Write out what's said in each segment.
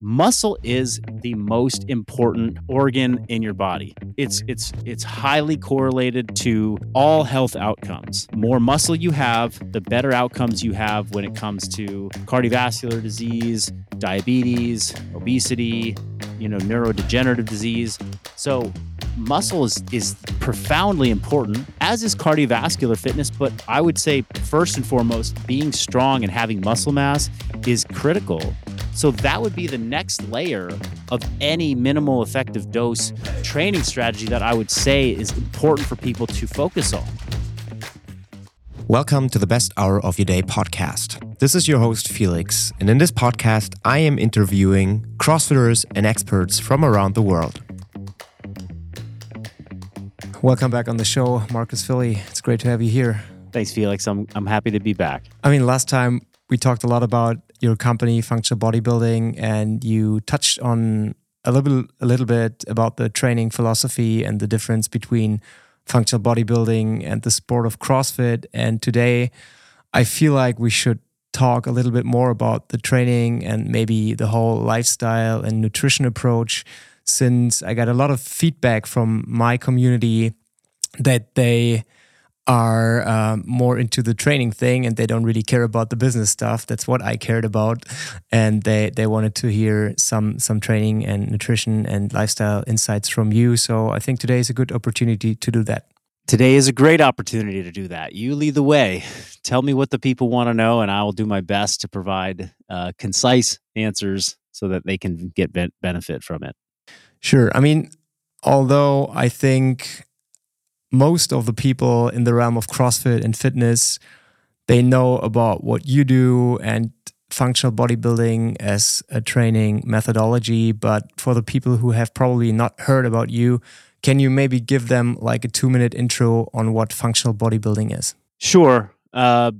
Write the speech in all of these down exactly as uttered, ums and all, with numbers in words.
Muscle is the most important organ in your body. It's it's it's highly correlated to all health outcomes. More muscle you have, the better outcomes you have when it comes to cardiovascular disease, diabetes, obesity, you know, neurodegenerative disease. So muscle is is profoundly important, as is cardiovascular fitness, but I would say first and foremost, being strong and having muscle mass is critical. So that would be the next layer of any minimal effective dose training strategy that I would say is important for people to focus on. Welcome to the Best Hour of Your Day podcast. This is your host, Felix, and in this podcast, I am interviewing CrossFitters and experts from around the world. Welcome back on the show, Marcus Philly. It's great to have you here. Thanks, Felix. I'm I'm happy to be back. I mean, last time we talked a lot about your company, Functional Bodybuilding, and you touched on a little, a little bit about the training philosophy and the difference between functional bodybuilding and the sport of CrossFit. And today, I feel like we should talk a little bit more about the training and maybe the whole lifestyle and nutrition approach, since I got a lot of feedback from my community that they are um, more into the training thing and they don't really care about the business stuff. That's what I cared about. And they, they wanted to hear some some training and nutrition and lifestyle insights from you. So I think today is a good opportunity to do that. Today is a great opportunity to do that. You lead the way. Tell me what the people want to know, and I will do my best to provide uh, concise answers so that they can get be- benefit from it. Sure. I mean, although I think most of the people in the realm of CrossFit and fitness, they know about what you do and functional bodybuilding as a training methodology. But for the people who have probably not heard about you, can you maybe give them like a two minute intro on what functional bodybuilding is? Sure. Uh,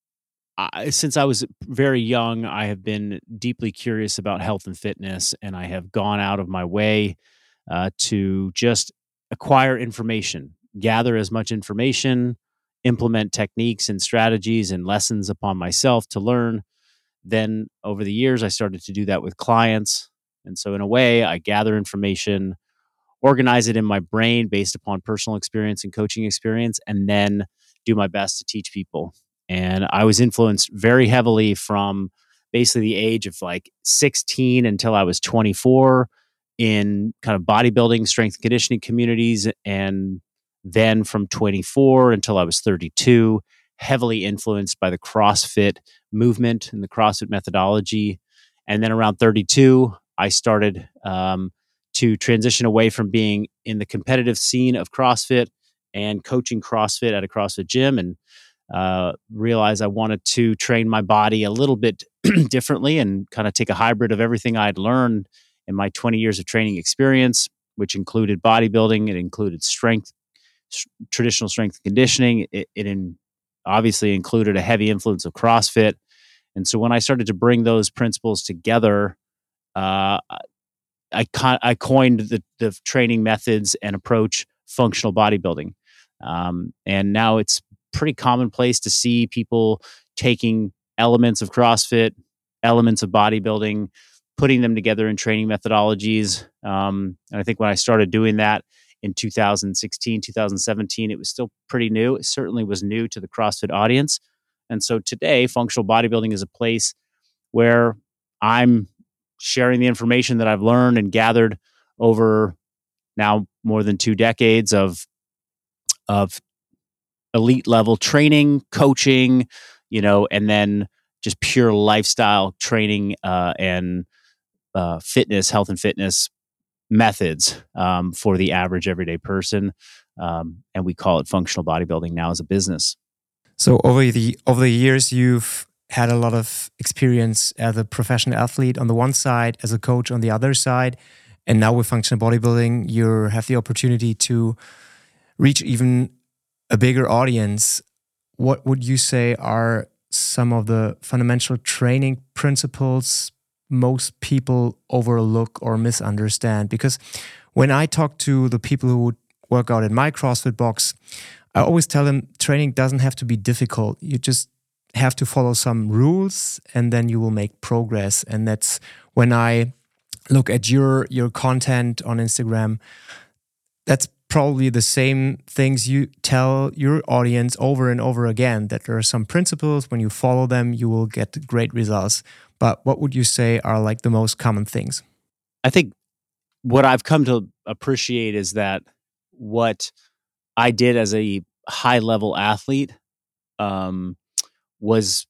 I, since I was very young, I have been deeply curious about health and fitness, and I have gone out of my way uh, to just acquire information. Gather as much information, implement techniques and strategies and lessons upon myself to learn. Then over the years, I started to do that with clients. And so in a way, I gather information, organize it in my brain based upon personal experience and coaching experience, and then do my best to teach people. And I was influenced very heavily from basically the age of like sixteen until I was twenty-four in kind of bodybuilding, strength and conditioning communities, and then from twenty-four until I was thirty-two, heavily influenced by the CrossFit movement and the CrossFit methodology. And then around thirty-two, I started um, to transition away from being in the competitive scene of CrossFit and coaching CrossFit at a CrossFit gym, and uh, realized I wanted to train my body a little bit differently and kind of take a hybrid of everything I'd learned in my twenty years of training experience, which included bodybuilding, it included strength, traditional strength and conditioning. It, it in, obviously included a heavy influence of CrossFit. And so when I started to bring those principles together, uh, I, I coined the, the training methods and approach functional bodybuilding. Um, and now it's pretty commonplace to see people taking elements of CrossFit, elements of bodybuilding, putting them together in training methodologies. Um, and I think when I started doing that, in two thousand sixteen, two thousand seventeen, it was still pretty new. It certainly was new to the CrossFit audience. And so today, functional bodybuilding is a place where I'm sharing the information that I've learned and gathered over now more than two decades of, of elite level training, coaching, you know, and then just pure lifestyle training uh, and uh, fitness, health and fitness methods um, for the average everyday person, um, and we call it functional bodybuilding now as a business. So over the over the years, you've had a lot of experience as a professional athlete on the one side, as a coach on the other side, and now with functional bodybuilding, you have the opportunity to reach even a bigger audience. What would you say are some of the fundamental training principles most people overlook or misunderstand? Because when I talk to the people who work out in my CrossFit box, I always tell them training doesn't have to be difficult. You just have to follow some rules and then you will make progress. And that's when I look at your your content on Instagram, that's probably the same things you tell your audience over and over again, that there are some principles, when you follow them, you will get great results. But what would you say are like the most common things? I think what I've come to appreciate is that what I did as a high level athlete um, was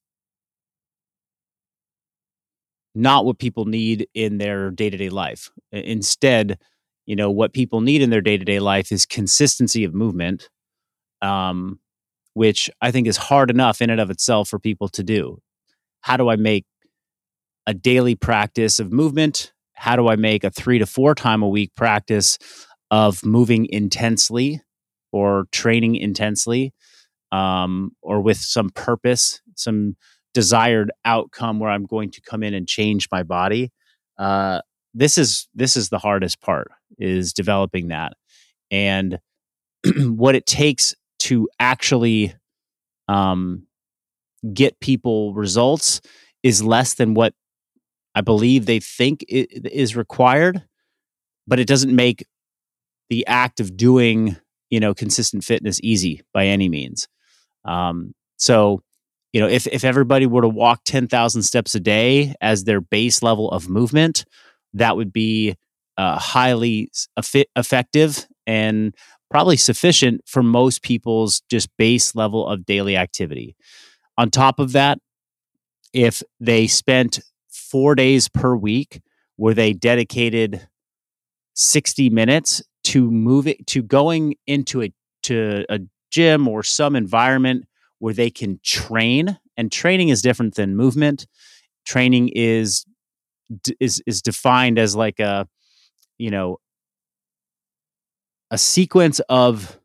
not what people need in their day to day life. I- Instead, you know, what people need in their day to day life is consistency of movement, um, which I think is hard enough in and of itself for people to do. How do I make a daily practice of movement? How do I make a three to four time a week practice of moving intensely or training intensely, um, or with some purpose, some desired outcome where I'm going to come in and change my body? Uh, this is this is the hardest part, is developing that, and what it takes to actually um, get people results is less than what I believe they think i- is required, but it doesn't make the act of doing, you know, consistent fitness easy by any means. Um, so, you know, if if everybody were to walk ten thousand steps a day as their base level of movement, that would be uh, highly s- effi- effective and probably sufficient for most people's just base level of daily activity. On top of that, if they spent four days per week where they dedicated sixty minutes to moving to going into a to a gym or some environment where they can train, and training is different than movement. Training is is is defined as like a, you know, a sequence of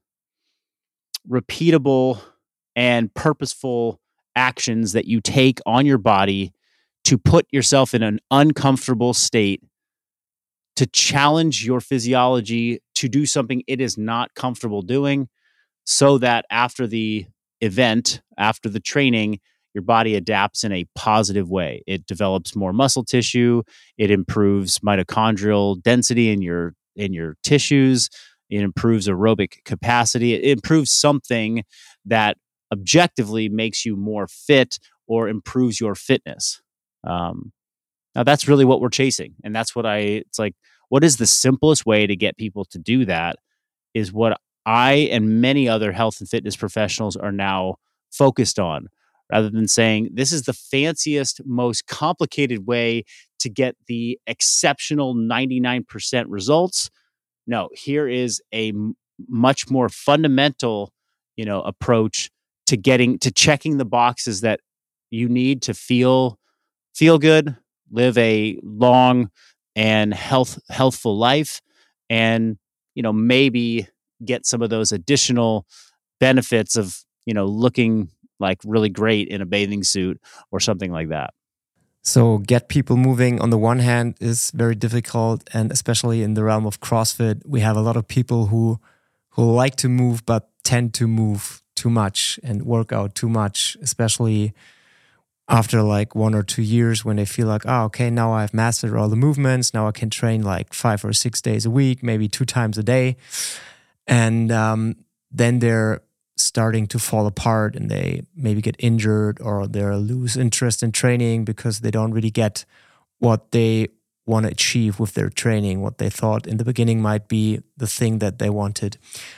repeatable and purposeful actions that you take on your body to put yourself in an uncomfortable state, to challenge your physiology to do something it is not comfortable doing, so that after the event, after the training, your body adapts in a positive way. It develops more muscle tissue, it improves mitochondrial density in your in your tissues, it improves aerobic capacity, it improves something that objectively makes you more fit or improves your fitness. Um, Now that's really what we're chasing. And that's what I it's like, what is the simplest way to get people to do that, is what I and many other health and fitness professionals are now focused on, rather than saying this is the fanciest, most complicated way to get the exceptional ninety-nine percent results. No, here is a m- much more fundamental, you know, approach to getting to checking the boxes that you need to feel feel good, live a long and health healthful life, and, you know, maybe get some of those additional benefits of, you know, looking like really great in a bathing suit or something like that. So, get people moving on the one hand is very difficult, and especially in the realm of CrossFit, we have a lot of people who who like to move but tend to move too much and work out too much, especially after like one or two years when they feel like, oh, okay, now I've mastered all the movements. Now I can train like five or six days a week, maybe two times a day. And um, then they're starting to fall apart and they maybe get injured or they lose interest in training because they don't really get what they want to achieve with their training, what they thought in the beginning might be the thing that they wanted.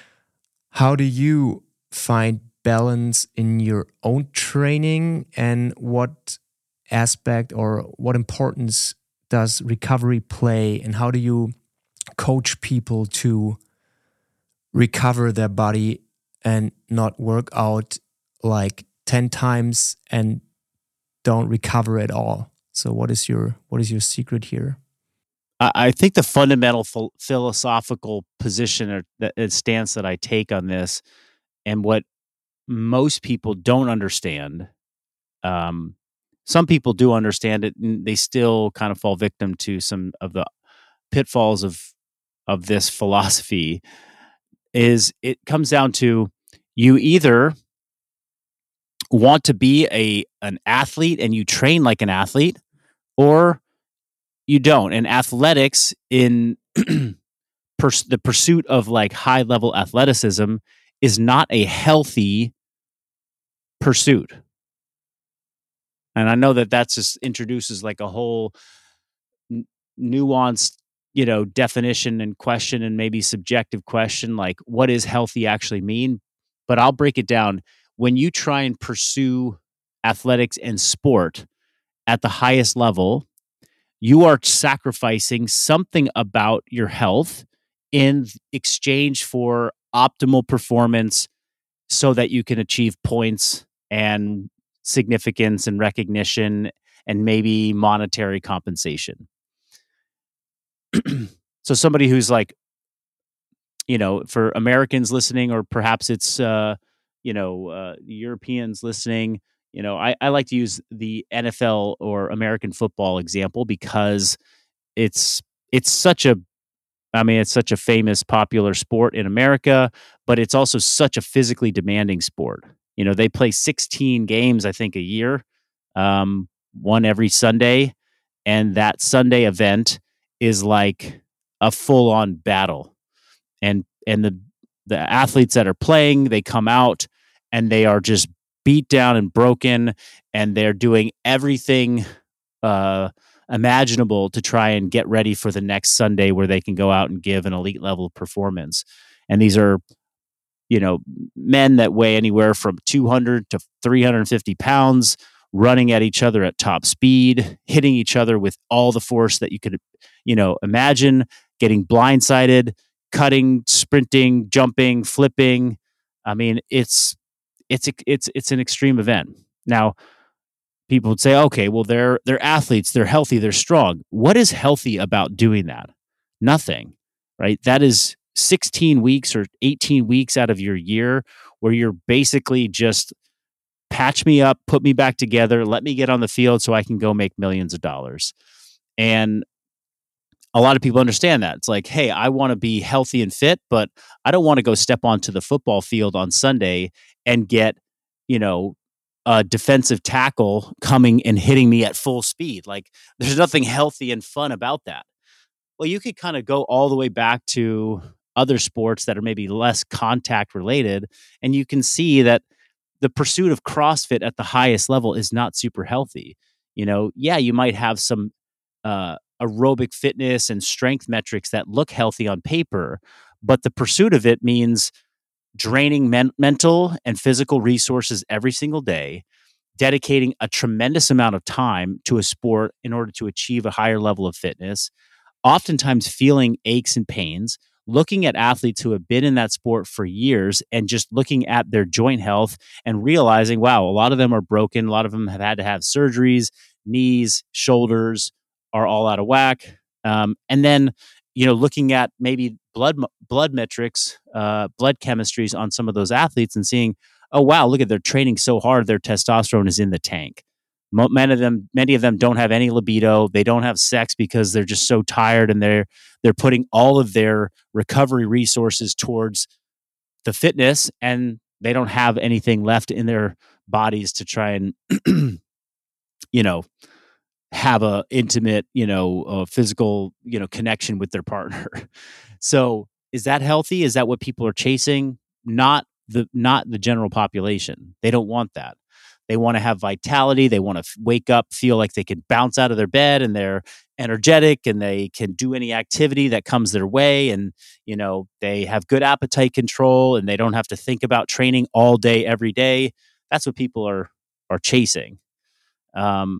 How do you find balance in your own training, and what aspect or what importance does recovery play, and how do you coach people to recover their body and not work out like ten times and don't recover at all? So what is your what is your secret here? I, I think the fundamental phil- philosophical position or the uh, stance that I take on this, and what most people don't understand, um, some people do understand it, and they still kind of fall victim to some of the pitfalls of of this philosophy, is it comes down to, you either want to be a an athlete and you train like an athlete, or you don't. And athletics in pers- the pursuit of like high level athleticism is not a healthy pursuit. And I know that that's just introduces like a whole n- nuanced, you know, definition and question and maybe subjective question, like what does healthy actually mean? But I'll break it down. When you try and pursue athletics and sport at the highest level, you are sacrificing something about your health in exchange for optimal performance so that you can achieve points and significance and recognition and maybe monetary compensation. So somebody who's like, you know, for Americans listening, or perhaps it's, uh, you know, uh, Europeans listening, you know, I, I like to use the N F L or American football example because it's it's such a I mean, it's such a famous, popular sport in America, but it's also such a physically demanding sport. You know, they play sixteen games, I think, a year, um, one every Sunday, and that Sunday event is like a full-on battle. And and the the athletes that are playing, they come out and they are just beat down and broken, and they're doing everything uh, imaginable to try and get ready for the next Sunday where they can go out and give an elite level performance. And these are, you know, men that weigh anywhere from two hundred to three hundred fifty pounds, running at each other at top speed, hitting each other with all the force that you could, you know, imagine, getting blindsided, cutting, sprinting, jumping, flipping. I mean, it's it's it's it's an extreme event. Now, people would say, okay, well, they're they're athletes, they're healthy, they're strong. What is healthy about doing that? Nothing, right? That is sixteen weeks or eighteen weeks out of your year where you're basically just patch me up, put me back together, let me get on the field so I can go make millions of dollars. And a lot of people understand that. It's like, hey, I want to be healthy and fit, but I don't want to go step onto the football field on Sunday and get, you know, a defensive tackle coming and hitting me at full speed. Like, there's nothing healthy and fun about that. Well, you could kind of go all the way back to other sports that are maybe less contact related, and you can see that the pursuit of CrossFit at the highest level is not super healthy. You know, yeah, you might have some uh, aerobic fitness and strength metrics that look healthy on paper, but the pursuit of it means draining men- mental and physical resources every single day, dedicating a tremendous amount of time to a sport in order to achieve a higher level of fitness, oftentimes feeling aches and pains, looking at athletes who have been in that sport for years and just looking at their joint health and realizing, wow, a lot of them are broken. A lot of them have had to have surgeries, knees, shoulders are all out of whack. Um, and then, you know, looking at maybe blood blood metrics, uh, blood chemistries on some of those athletes and seeing, oh wow, look at they're training so hard, their testosterone is in the tank. Many of them, many of them don't have any libido. They don't have sex because they're just so tired, and they're they're putting all of their recovery resources towards the fitness, and they don't have anything left in their bodies to try and you know have a intimate, you know, uh, physical, you know, connection with their partner. So, is that healthy? Is that what people are chasing? Not the not the general population. They don't want that. They want to have vitality. They want to f- wake up, feel like they can bounce out of their bed and they're energetic and they can do any activity that comes their way. And, you know, they have good appetite control and they don't have to think about training all day, every day. That's what people are, are chasing. Um,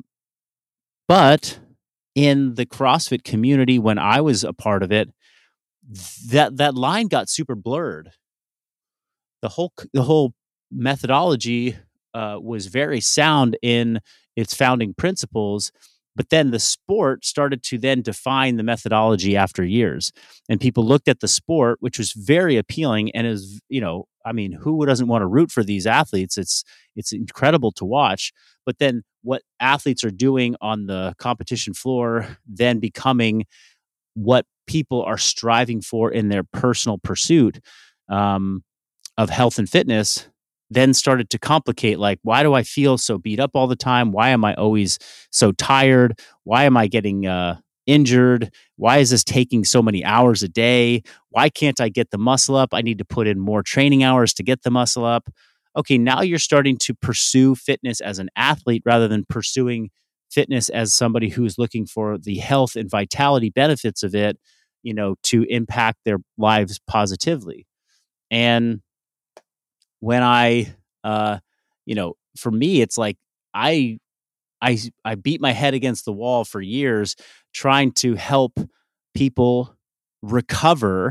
but in the CrossFit community, when I was a part of it, that that line got super blurred. The whole c- the whole methodology uh, was very sound in its founding principles, but then the sport started to then define the methodology after years, and people looked at the sport, which was very appealing, and is, you know, I mean, who doesn't want to root for these athletes? It's it's incredible to watch. But then what athletes are doing on the competition floor then becoming what people are striving for in their personal pursuit um, of health and fitness then started to complicate, like, why do I feel so beat up all the time? Why am I always so tired? Why am I getting uh injured? Why is this taking so many hours a day? Why can't I get the muscle up? I need to put in more training hours to get the muscle up. Okay, now you're starting to pursue fitness as an athlete rather than pursuing fitness as somebody who's looking for the health and vitality benefits of it, you know, to impact their lives positively. And when I, uh, you know, for me, it's like I, I, I beat my head against the wall for years trying to help people recover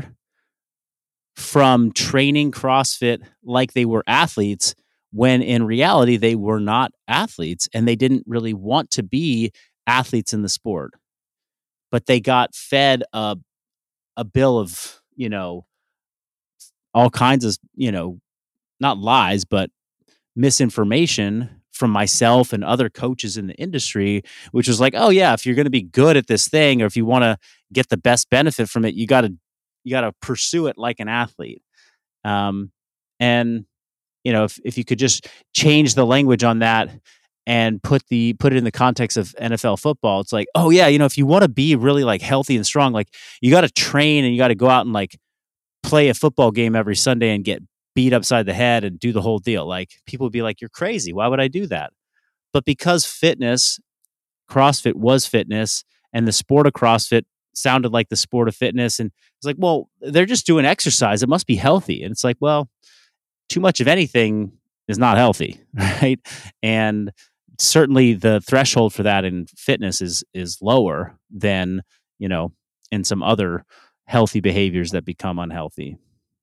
from training CrossFit like they were athletes, when in reality they were not athletes and they didn't really want to be athletes in the sport. But they got fed a a bill of, you know, all kinds of, you know, not lies, but misinformation from myself and other coaches in the industry, which was like, oh yeah, if you're going to be good at this thing, or if you want to get the best benefit from it, you got to you got to pursue it like an athlete. Um, and you know, if if you could just change the language on that and put the put it in the context of N F L football, it's like, oh yeah, you know, if you want to be really like healthy and strong, like you got to train and you got to go out and like play a football game every Sunday and get beat upside the head and do the whole deal. Like people would be like, you're crazy. Why would I do that? But because fitness, CrossFit was fitness, and the sport of CrossFit sounded like the sport of fitness. And it's like, well, they're just doing exercise. It must be healthy. And it's like, well, too much of anything is not healthy, right? And certainly the threshold for that in fitness is is lower than, you know, in some other healthy behaviors that become unhealthy.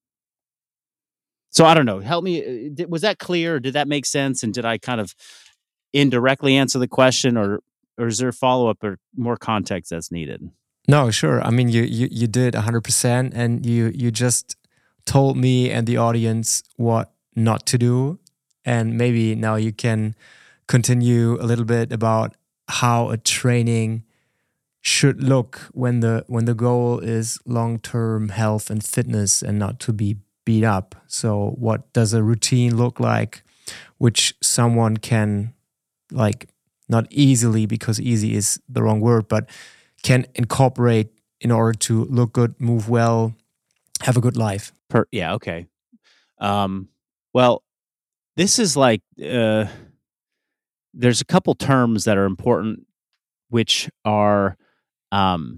So I don't know. Help me. uh, Was that clear? Or did that make sense? And did I kind of indirectly answer the question, or or is there follow up or more context that's needed? No, sure. I mean, you you you did one hundred percent, and you you just told me and the audience what not to do, and maybe now you can continue a little bit about how a training should look when the when the goal is long-term health and fitness and not to be beat up. So what does a routine look like which someone can, like, not easily, because easy is the wrong word, but can incorporate in order to look good, move well, have a good life? Per, yeah, okay. Um, well, this is like uh, there's a couple terms that are important, which are um,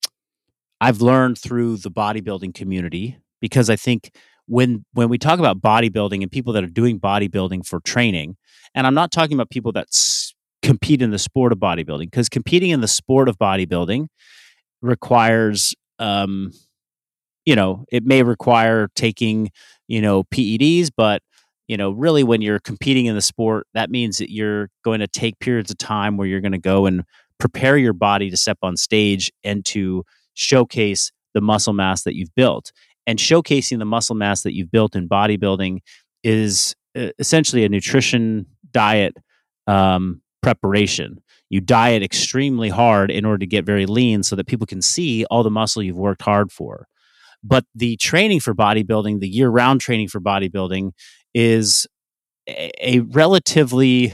I've learned through the bodybuilding community, because I think when when we talk about bodybuilding and people that are doing bodybuilding for training, and I'm not talking about people that s- compete in the sport of bodybuilding, because competing in the sport of bodybuilding requires, um, you know, it may require taking, you know, P E Ds, but you know, really when you're competing in the sport, that means that you're going to take periods of time where you're going to go and prepare your body to step on stage and to showcase the muscle mass that you've built. And showcasing the muscle mass that you've built in bodybuilding is uh, essentially a nutrition diet um, preparation. You diet extremely hard in order to get very lean so that people can see all the muscle you've worked hard for. But the training for bodybuilding, the year-round training for bodybuilding, is a, a relatively,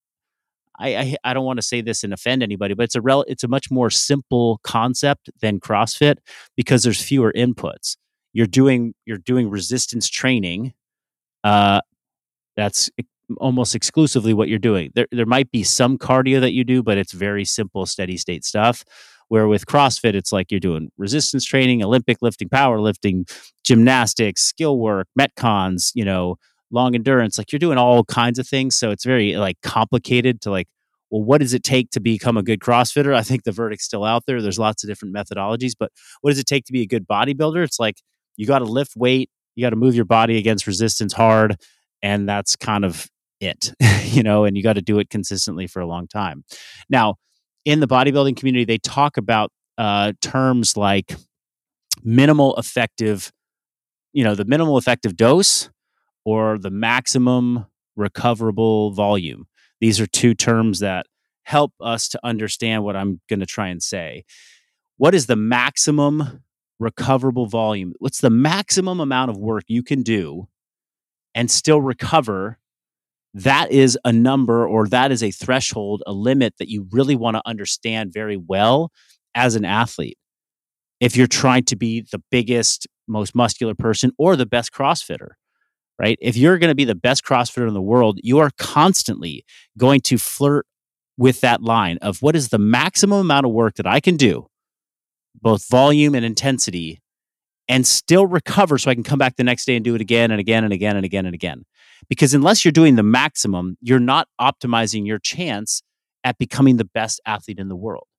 I, I I don't want to say this and offend anybody, but it's a rel, it's a much more simple concept than CrossFit, because there's fewer inputs. You're doing you're doing resistance training. Uh, that's e- almost exclusively what you're doing. There there might be some cardio that you do, but it's very simple, steady state stuff. Where with CrossFit, it's like you're doing resistance training, Olympic lifting, powerlifting, gymnastics, skill work, metcons, you know, long endurance. Like you're doing all kinds of things. So it's very like complicated to like, well, what does it take to become a good CrossFitter? I think the verdict's still out there. There's lots of different methodologies, but what does it take to be a good bodybuilder? It's like you got to lift weight, you got to move your body against resistance hard, and that's kind of it, you know, and you got to do it consistently for a long time. Now, in the bodybuilding community, they talk about uh, terms like minimal effective, you know, the minimal effective dose or the maximum recoverable volume. These are two terms that help us to understand what I'm going to try and say. What is the maximum recoverable volume? What's the maximum amount of work you can do and still recover? That is a number, or that is a threshold, a limit that you really want to understand very well as an athlete. If you're trying to be the biggest, most muscular person or the best CrossFitter, right? If you're going to be the best CrossFitter in the world, you are constantly going to flirt with that line of what is the maximum amount of work that I can do, both volume and intensity, and still recover so I can come back the next day and do it again and again and again and again and again. Because unless you're doing the maximum, you're not optimizing your chance at becoming the best athlete in the world.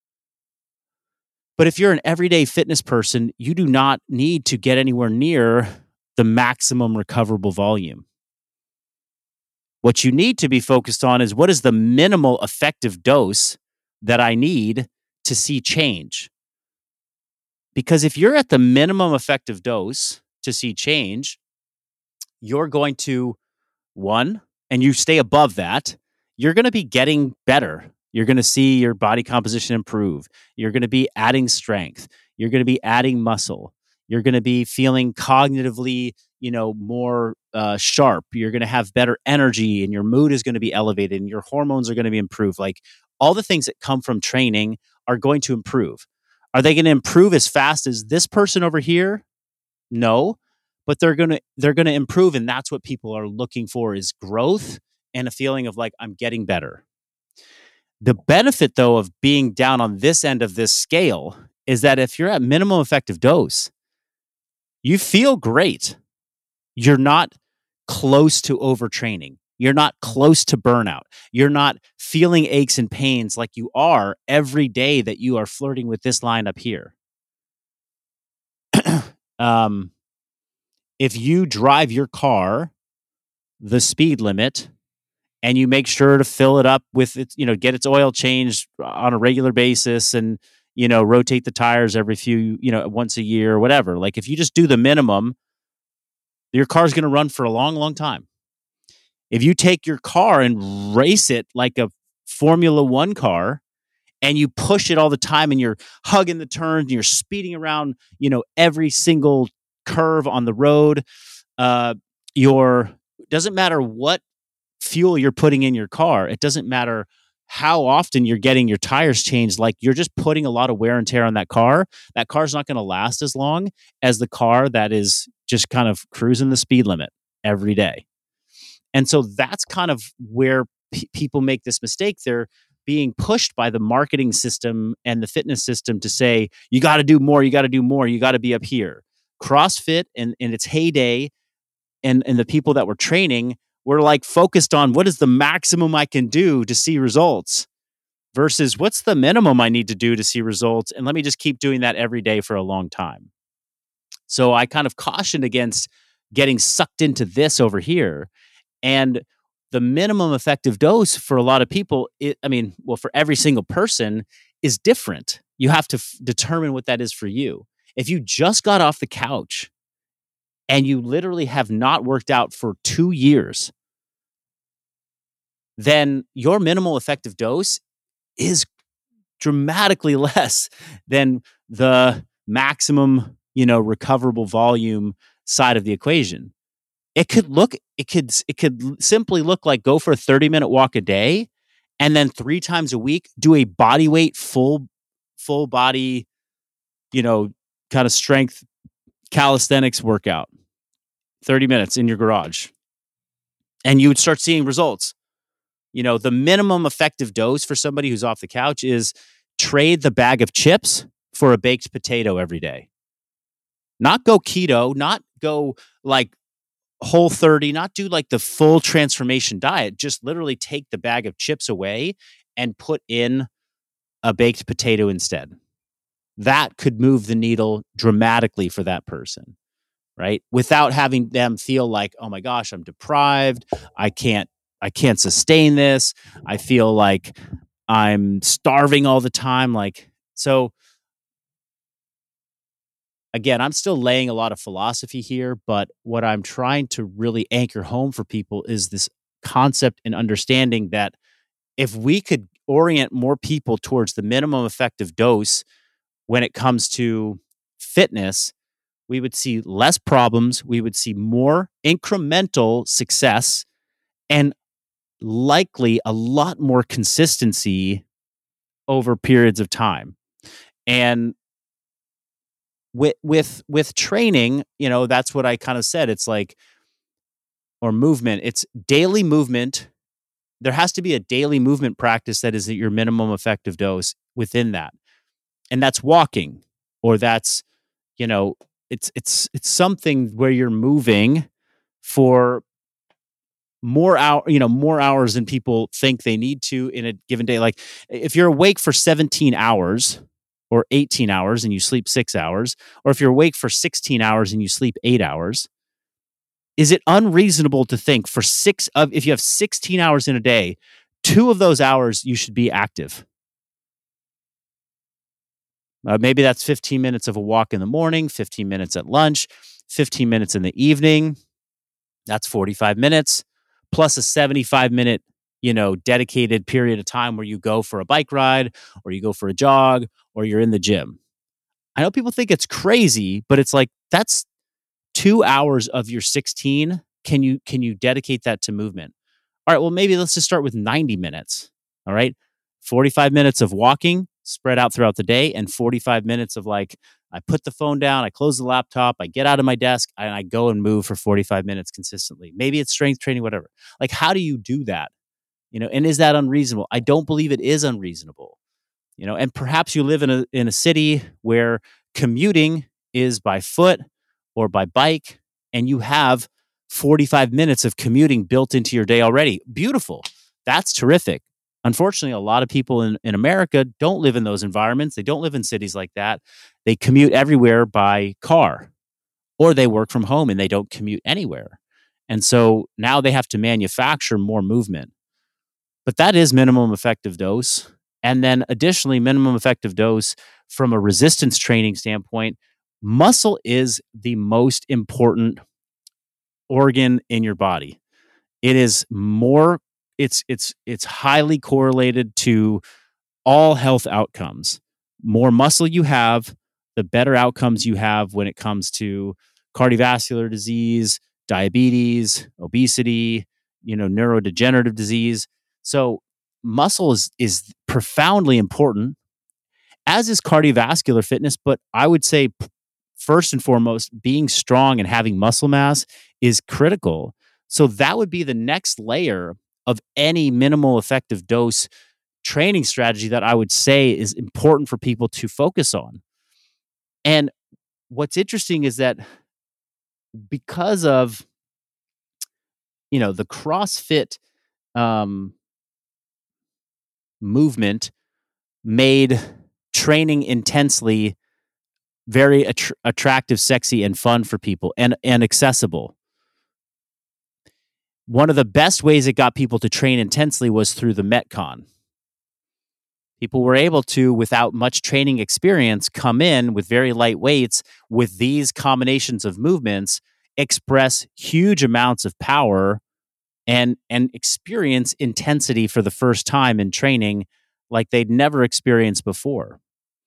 But if you're an everyday fitness person, you do not need to get anywhere near the maximum recoverable volume. What you need to be focused on is what is the minimal effective dose that I need to see change. Because if you're at the minimum effective dose to see change, you're going to, one, and you stay above that, you're going to be getting better. You're going to see your body composition improve. You're going to be adding strength. You're going to be adding muscle. You're going to be feeling cognitively, you know, more uh, sharp. You're going to have better energy, and your mood is going to be elevated, and your hormones are going to be improved. Like all the things that come from training are going to improve. Are they going to improve as fast as this person over here? No, but they're going to they're going to improve, and that's what people are looking for is growth and a feeling of like I'm getting better. The benefit, though, of being down on this end of this scale is that if you're at minimum effective dose, you feel great. You're not close to overtraining. You're not close to burnout. You're not feeling aches and pains like you are every day that you are flirting with this line up here. um, if you drive your car the speed limit and you make sure to fill it up with its, you know, get its oil changed on a regular basis and, you know, rotate the tires every few, you know, once a year or whatever. Like if you just do the minimum, your car's going to run for a long, long time. If you take your car and race it like a Formula One car and you push it all the time and you're hugging the turns and you're speeding around, you know, every single curve on the road, uh, your doesn't matter what fuel you're putting in your car. It doesn't matter how often you're getting your tires changed. Like you're just putting a lot of wear and tear on that car. That car's not going to last as long as the car that is just kind of cruising the speed limit every day. And so that's kind of where p- people make this mistake. They're being pushed by the marketing system and the fitness system to say, you got to do more, you got to do more, you got to be up here. CrossFit in, in its heyday and, and the people that were training were like focused on what is the maximum I can do to see results versus what's the minimum I need to do to see results. And let me just keep doing that every day for a long time. So I kind of cautioned against getting sucked into this over here. And the minimum effective dose for a lot of people, it, I mean, well, for every single person is different. You have to f- determine what that is for you. If you just got off the couch and you literally have not worked out for two years, then your minimal effective dose is dramatically less than the maximum, you know, recoverable volume side of the equation. It could look, it could, it could simply look like go for a thirty minute walk a day, and then three times a week do a body weight full, full body, you know, kind of strength calisthenics workout, thirty minutes in your garage, and you would start seeing results. You know, the minimum effective dose for somebody who's off the couch is trade the bag of chips for a baked potato every day. Not go keto, not go like Whole thirty, not do like the full transformation diet, just literally take the bag of chips away and put in a baked potato instead. That could move the needle dramatically for that person, right? Without having them feel like, oh my gosh, I'm deprived. I can't, I can't sustain this. I feel like I'm starving all the time. Like, so again, I'm still laying a lot of philosophy here, but what I'm trying to really anchor home for people is this concept and understanding that if we could orient more people towards the minimum effective dose when it comes to fitness, we would see less problems, we would see more incremental success, and likely a lot more consistency over periods of time. And with with with training, you know, that's what I kind of said. It's like, or movement, it's daily movement. There has to be a daily movement practice that is at your minimum effective dose within that. And that's walking, or that's, you know, it's it's it's something where you're moving for more hour, you know, more hours than people think they need to in a given day. Like if you're awake for seventeen hours or eighteen hours and you sleep six hours, or if you're awake for sixteen hours and you sleep eight hours, is it unreasonable to think for six of, if you have sixteen hours in a day, two of those hours you should be active? Uh, maybe that's fifteen minutes of a walk in the morning, fifteen minutes at lunch, fifteen minutes in the evening. That's forty-five minutes plus a seventy-five minute, you know, dedicated period of time where you go for a bike ride or you go for a jog or you're in the gym. I know people think it's crazy, but it's like, that's two hours of your sixteen. Can you, can you dedicate that to movement? All right, well, maybe let's just start with ninety minutes. All right. forty-five minutes of walking spread out throughout the day, and forty-five minutes of like, I put the phone down, I close the laptop, I get out of my desk, and I go and move for forty-five minutes consistently. Maybe it's strength training, whatever. Like, how do you do that? You know, and is that unreasonable? I don't believe it is unreasonable. You know, and perhaps you live in a in a city where commuting is by foot or by bike, and you have forty-five minutes of commuting built into your day already. Beautiful. That's terrific. Unfortunately, a lot of people in, in America don't live in those environments. They don't live in cities like that. They commute everywhere by car, or they work from home and they don't commute anywhere. And so now they have to manufacture more movement. But that is minimum effective dose. And then additionally, minimum effective dose from a resistance training standpoint, muscle is the most important organ in your body. It is more, it's it's it's highly correlated to all health outcomes. More muscle you have, the better outcomes you have when it comes to cardiovascular disease, diabetes, obesity, you know, neurodegenerative disease. So muscle is is profoundly important, as is cardiovascular fitness. But I would say p- first and foremost, being strong and having muscle mass is critical. So that would be the next layer of any minimal effective dose training strategy that I would say is important for people to focus on. And what's interesting is that because of, you know, the CrossFit um, movement made training intensely very att- attractive, sexy, and fun for people, and and accessible. One of the best ways it got people to train intensely was through the Metcon. People were able to, without much training experience, come in with very light weights with these combinations of movements, express huge amounts of power, and and experience intensity for the first time in training like they'd never experienced before.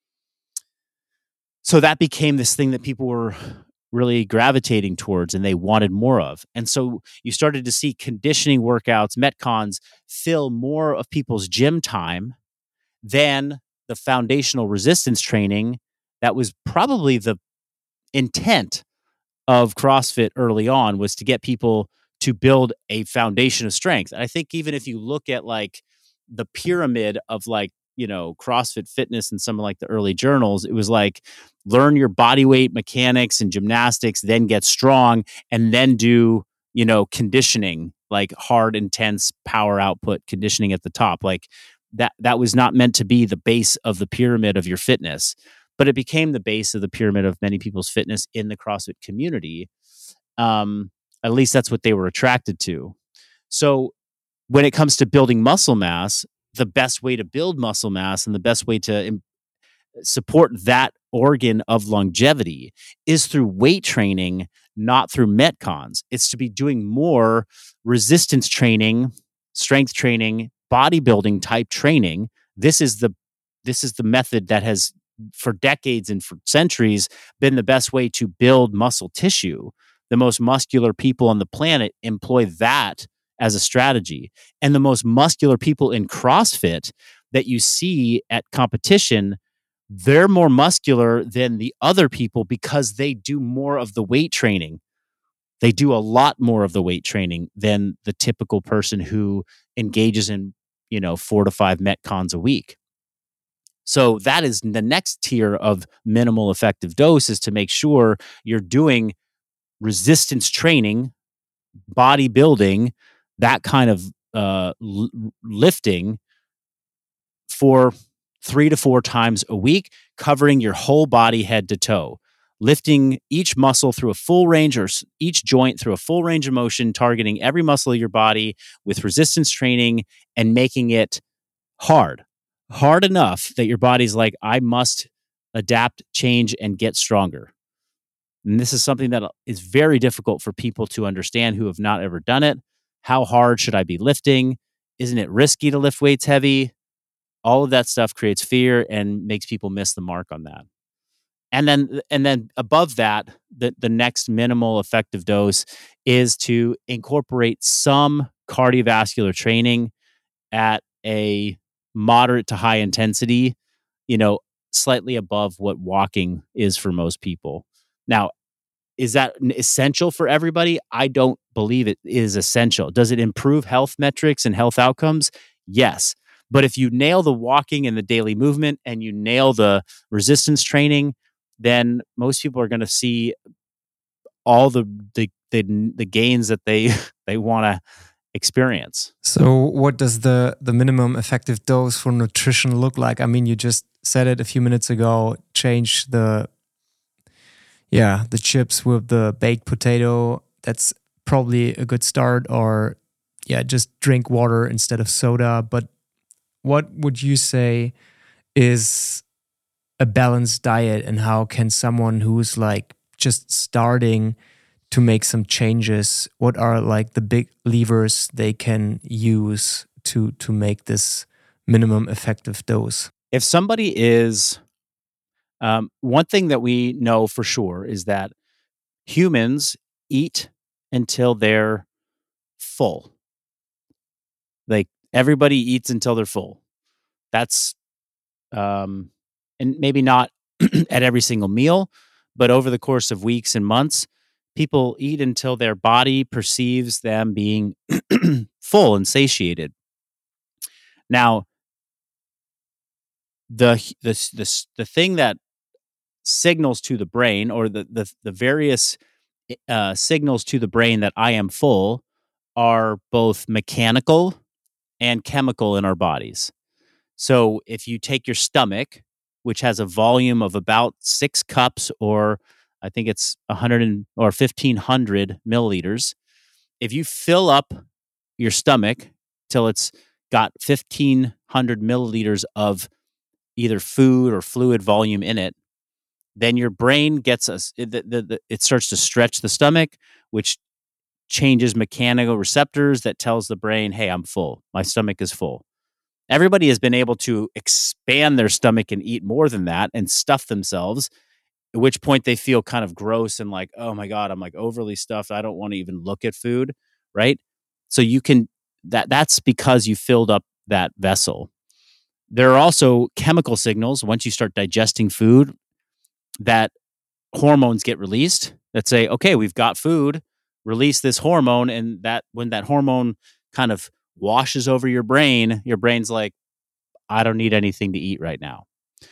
So that became this thing that people were really gravitating towards and they wanted more of. And so you started to see conditioning workouts, Metcons, fill more of people's gym time than the foundational resistance training that was probably the intent of CrossFit early on, was to get people to build a foundation of strength. And I think even if you look at like the pyramid of like, you know, CrossFit fitness and some of like the early journals, it was like, learn your body weight mechanics and gymnastics, then get strong, and then do, you know, conditioning, like hard, intense power output conditioning at the top. Like that, that was not meant to be the base of the pyramid of your fitness, but it became the base of the pyramid of many people's fitness in the CrossFit community. Um, at least that's what they were attracted to. So when it comes to building muscle mass, the best way to build muscle mass and the best way to im- support that organ of longevity is through weight training, not through Metcons. It's to be doing more resistance training, strength training, bodybuilding type training. This is the this is the method that has for decades and for centuries been the best way to build muscle tissue. The most muscular people on the planet employ that as a strategy. And the most muscular people in CrossFit that you see at competition they're more muscular than the other people because they do more of the weight training. They do a lot more of the weight training than the typical person who engages in, you know, four to five Metcons a week. So that is the next tier of minimal effective dose, is to make sure you're doing resistance training, bodybuilding, that kind of uh, l- lifting for three to four times a week, covering your whole body head to toe, lifting each muscle through a full range, or each joint through a full range of motion, targeting every muscle of your body with resistance training and making it hard, hard enough that your body's like, I must adapt, change, and get stronger. And this is something that is very difficult for people to understand who have not ever done it. How hard should I be lifting? Isn't it risky to lift weights heavy? All of that stuff creates fear and makes people miss the mark on that. And then, and then above that, the, the next minimal effective dose is to incorporate some cardiovascular training at a moderate to high intensity, you know, slightly above what walking is for most people. Now, is that essential for everybody? I don't believe it is essential. Does it improve health metrics and health outcomes? Yes. But if you nail the walking and the daily movement and you nail the resistance training, then most people are going to see all the the the, the gains that they they want to experience. So what does the the minimum effective dose for nutrition look like? I mean, you just said it a few minutes ago, change the yeah, the chips with the baked potato. That's probably a good start. Or yeah, just drink water instead of soda. But what would you say is a balanced diet, and how can someone who's like just starting to make some changes, what are like the big levers they can use to to make this minimum effective dose? If somebody is, um, one thing that we know for sure is that humans eat until they're full. Like, everybody eats until they're full. That's, um, and maybe not at every single meal, but over the course of weeks and months, people eat until their body perceives them being full and satiated. Now, the the the the thing that signals to the brain, or the the, the various uh, signals to the brain that I am full, are both mechanical and chemical in our bodies. So if you take your stomach, which has a volume of about six cups, or I think it's one hundred or fifteen hundred milliliters, if you fill up your stomach till it's got fifteen hundred milliliters of either food or fluid volume in it, then your brain gets us, it, the, the, it starts to stretch the stomach, which changes mechanical receptors that tells the brain, hey, I'm full. My stomach is full. Everybody has been able to expand their stomach and eat more than that and stuff themselves, at which point they feel kind of gross and like, oh my God, I'm like overly stuffed. I don't want to even look at food, right? So you can, that that's because you filled up that vessel. There are also chemical signals once you start digesting food that hormones get released that say, okay, we've got food, release this hormone. And that when that hormone kind of washes over your brain, your brain's like, I don't need anything to eat right now.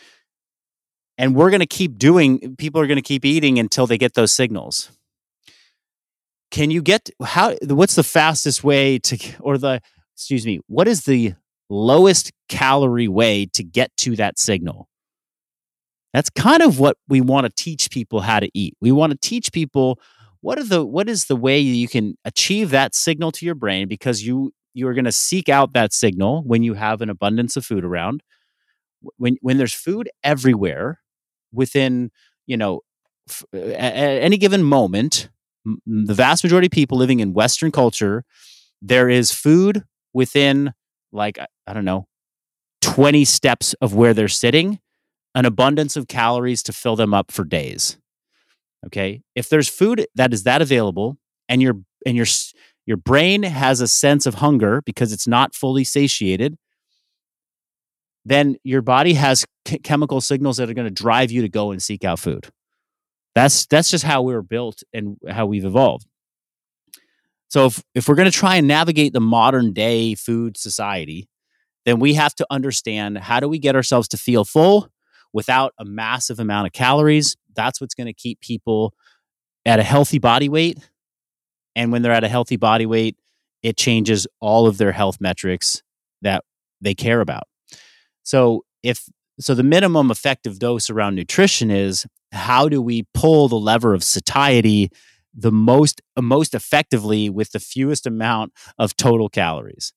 And we're going to keep doing, people are going to keep eating until they get those signals. Can you get, how, what's the fastest way to, or the, excuse me, what is the lowest calorie way to get to that signal? That's kind of what we want to teach people how to eat. We want to teach people what are the what is the way you can achieve that signal to your brain, because you you are going to seek out that signal when you have an abundance of food around. When when there's food everywhere within, you know, f- at, at any given moment, m- the vast majority of people living in Western culture, there is food within, like, I, I don't know, twenty steps of where they're sitting, an abundance of calories to fill them up for days. Okay. If there's food that is that available, and your and your your brain has a sense of hunger because it's not fully satiated, then your body has ch- chemical signals that are going to drive you to go and seek out food. That's that's just how we were built and how we've evolved. So if, if we're going to try and navigate the modern day food society, then we have to understand, how do we get ourselves to feel full without a massive amount of calories? That's what's going to keep people at a healthy body weight. And when they're at a healthy body weight, it changes all of their health metrics that they care about. So if so the minimum effective dose around nutrition is, how do we pull the lever of satiety the most uh, most effectively with the fewest amount of total calories?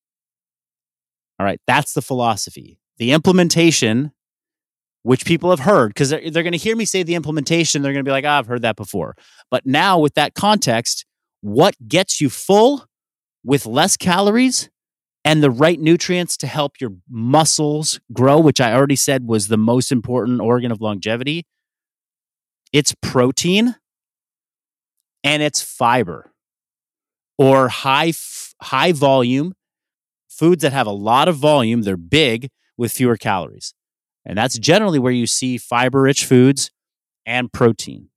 All right, that's the philosophy. The implementation, which people have heard, because they're, they're going to hear me say the implementation, they're going to be like, oh, I've heard that before. But now with that context, what gets you full with less calories and the right nutrients to help your muscles grow, which I already said was the most important organ of longevity? It's protein and it's fiber, or high f- high volume foods that have a lot of volume. They're big with fewer calories. And that's generally where you see fiber-rich foods and protein.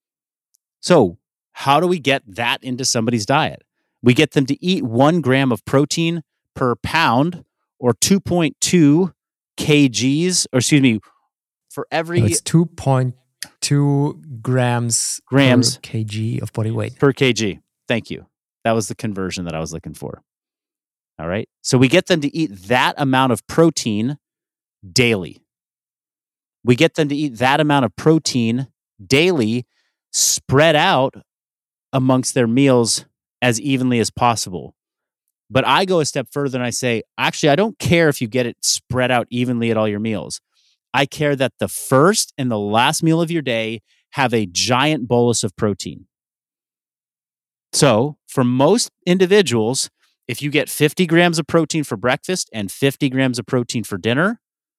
So how do we get that into somebody's diet? We get them to eat one gram of protein per pound, or two point two kgs, or excuse me, for every... So it's two point two grams, grams per kg of body weight. Per kg. Thank you. That was the conversion that I was looking for. All right. So we get them to eat that amount of protein daily. We get them to eat that amount of protein daily, spread out amongst their meals as evenly as possible. But I go a step further and I say, actually, I don't care if you get it spread out evenly at all your meals. I care that the first and the last meal of your day have a giant bolus of protein. So for most individuals, if you get fifty grams of protein for breakfast and fifty grams of protein for dinner,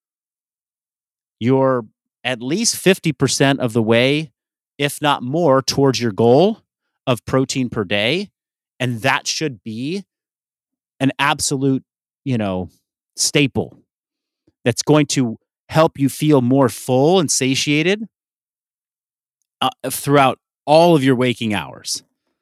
you're at least fifty percent of the way, if not more, towards your goal of protein per day. And that should be an absolute, you know, staple that's going to help you feel more full and satiated uh, throughout all of your waking hours.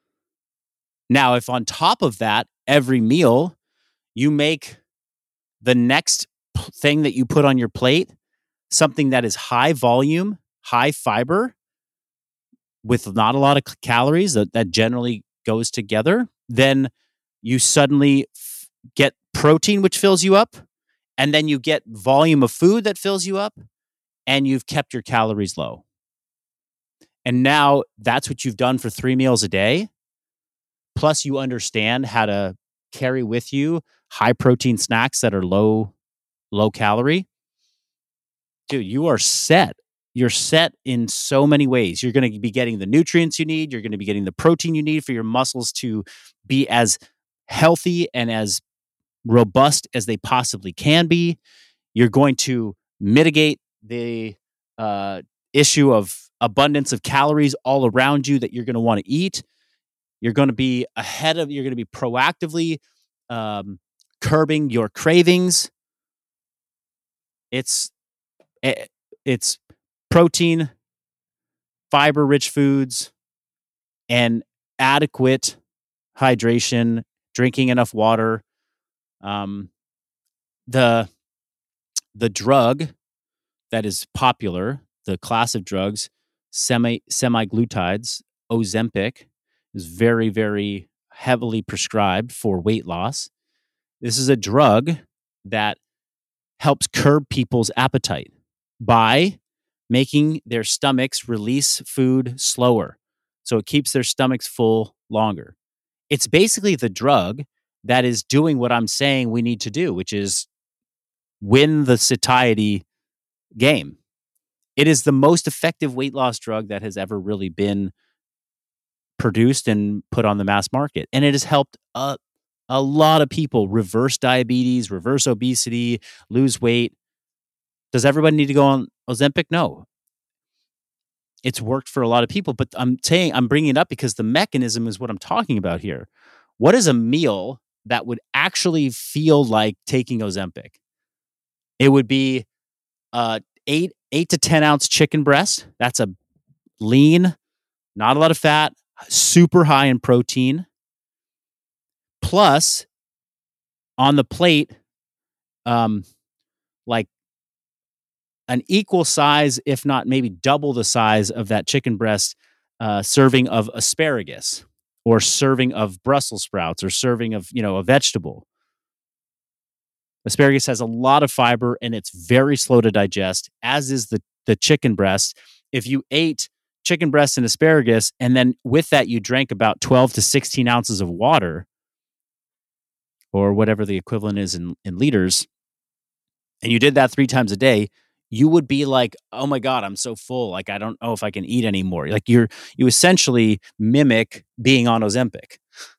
Now, if on top of that, every meal, you make the next p- thing that you put on your plate something that is high volume, high fiber, with not a lot of c- calories, that, that generally goes together, then you suddenly f- get protein, which fills you up, and then you get volume of food that fills you up, and you've kept your calories low. And now that's what you've done for three meals a day. Plus, you understand how to carry with you high protein snacks that are low, low calorie. Dude, you are set. You're set in so many ways. You're going to be getting the nutrients you need. You're going to be getting the protein you need for your muscles to be as healthy and as robust as they possibly can be. You're going to mitigate the uh, issue of abundance of calories all around you that you're going to want to eat. You're going to be ahead of, you're going to be proactively um, curbing your cravings. It's, it's protein, fiber-rich foods, and adequate hydration, drinking enough water. Um, the, the drug that is popular, the class of drugs, semi, semi-glutides, Ozempic, is very, very heavily prescribed for weight loss. This is a drug that helps curb people's appetite by making their stomachs release food slower. So it keeps their stomachs full longer. It's basically the drug that is doing what I'm saying we need to do, which is win the satiety game. It is the most effective weight loss drug that has ever really been produced and put on the mass market. And it has helped a, a lot of people reverse diabetes, reverse obesity, lose weight. Does everybody need to go on Ozempic? No. It's worked for a lot of people, but I'm saying, I'm bringing it up because the mechanism is what I'm talking about here. What is a meal that would actually feel like taking Ozempic? It would be uh, eight eight to ten ounce chicken breast. That's a lean, not a lot of fat, super high in protein. Plus, on the plate, um, like an equal size, if not maybe double the size of that chicken breast, uh, serving of asparagus, or serving of Brussels sprouts, or serving of, you know, a vegetable. Asparagus has a lot of fiber and it's very slow to digest, as is the, the chicken breast. If you ate chicken breast and asparagus, and then with that you drank about twelve to sixteen ounces of water, or whatever the equivalent is in, in liters, and you did that three times a day, you would be like, oh my God, I'm so full. Like, I don't know if I can eat anymore. Like you're, you essentially mimic being on Ozempic.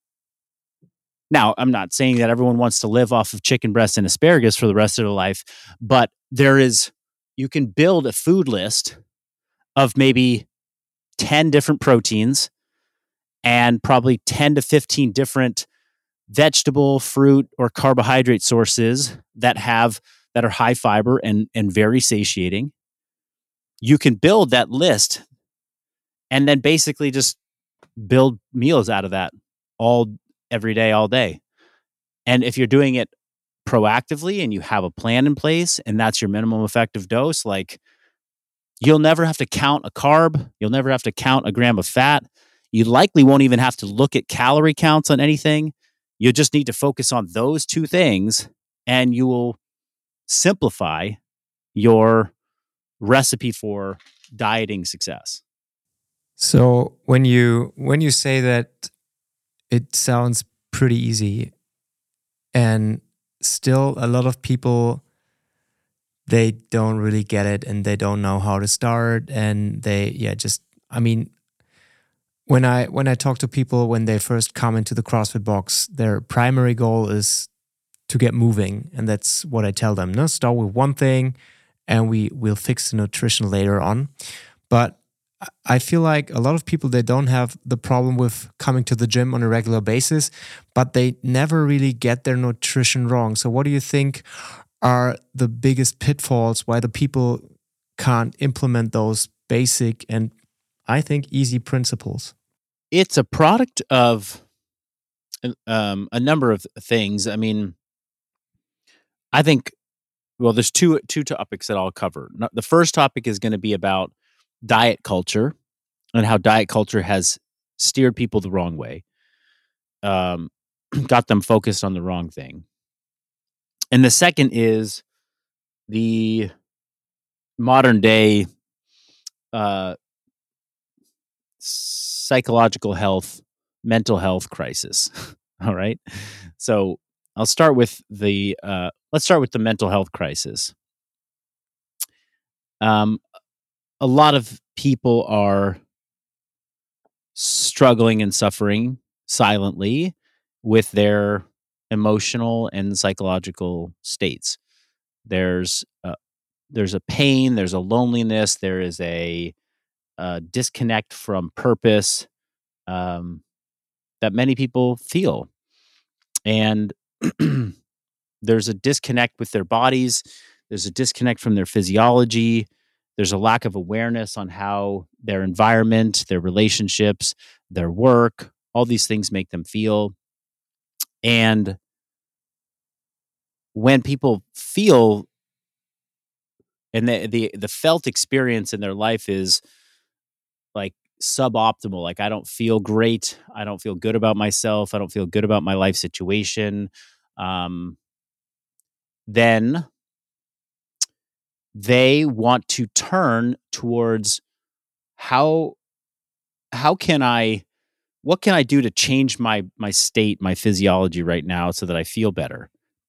Now, I'm not saying that everyone wants to live off of chicken breast and asparagus for the rest of their life, but there is, you can build a food list of maybe ten different proteins and probably ten to fifteen different vegetable, fruit, or carbohydrate sources that have, that are high fiber and, and very satiating. You can build that list and then basically just build meals out of that all every day, all day. And if you're doing it proactively and you have a plan in place and that's your minimum effective dose, like you'll never have to count a carb. You'll never have to count a gram of fat. You likely won't even have to look at calorie counts on anything. You just need to focus on those two things and you will simplify your recipe for dieting success. So when you when you say that, it sounds pretty easy, and still a lot of people, they don't really get it and they don't know how to start, and they yeah just I mean when I when I talk to people when they first come into the CrossFit box, their primary goal is to get moving, and that's what I tell them. No, start with one thing and we will fix the nutrition later on. But I feel like a lot of people, they don't have the problem with coming to the gym on a regular basis, but they never really get their nutrition wrong. So what do you think are the biggest pitfalls why the people can't implement those basic and, I think, easy principles? It's a product of um, a number of things. I mean, I think, well, there's two two topics that I'll cover. The first topic is going to be about diet culture and how diet culture has steered people the wrong way, um, got them focused on the wrong thing. And the second is the modern day uh, psychological health, mental health crisis. All right. So I'll start with the, uh, let's start with the mental health crisis. Um, a lot of people are struggling and suffering silently with their emotional and psychological states. There's a, there's a pain, there's a loneliness, there is a, a disconnect from purpose um, that many people feel. And there's a disconnect with their bodies. There's a disconnect from their physiology. There's a lack of awareness on how their environment, their relationships, their work, all these things make them feel. And when people feel, and the the, the felt experience in their life is like suboptimal, like I don't feel great, I don't feel good about myself, I don't feel good about my life situation, um, then they want to turn towards how how can I what can I do to change my my state, my physiology right now so that I feel better?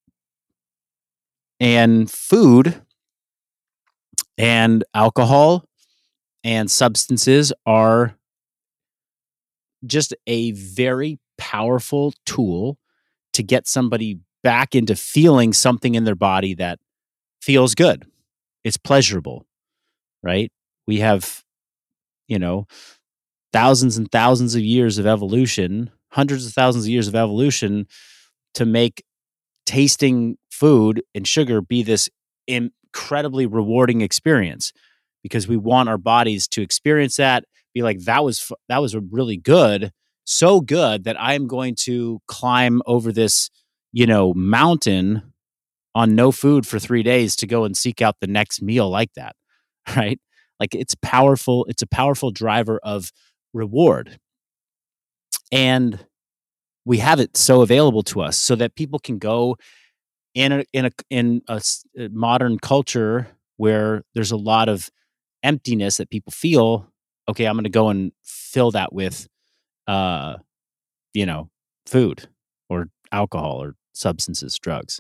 And food and alcohol and substances are just a very powerful tool to get somebody back into feeling something in their body that feels good. It's pleasurable, right? We have, you know, thousands and thousands of years of evolution, hundreds of thousands of years of evolution to make tasting food and sugar be this incredibly rewarding experience because we want our bodies to experience that, be like, that was, fu- that was really good. So good that I'm going to climb over this, you know, mountain on no food for three days to go and seek out the next meal like that. Right. Like it's powerful. It's a powerful driver of reward. And we have it so available to us so that people can go in a, in a, in a s- a modern culture where there's a lot of emptiness that people feel. Okay, I'm going to go and fill that with, uh, you know, food or alcohol or substances, drugs.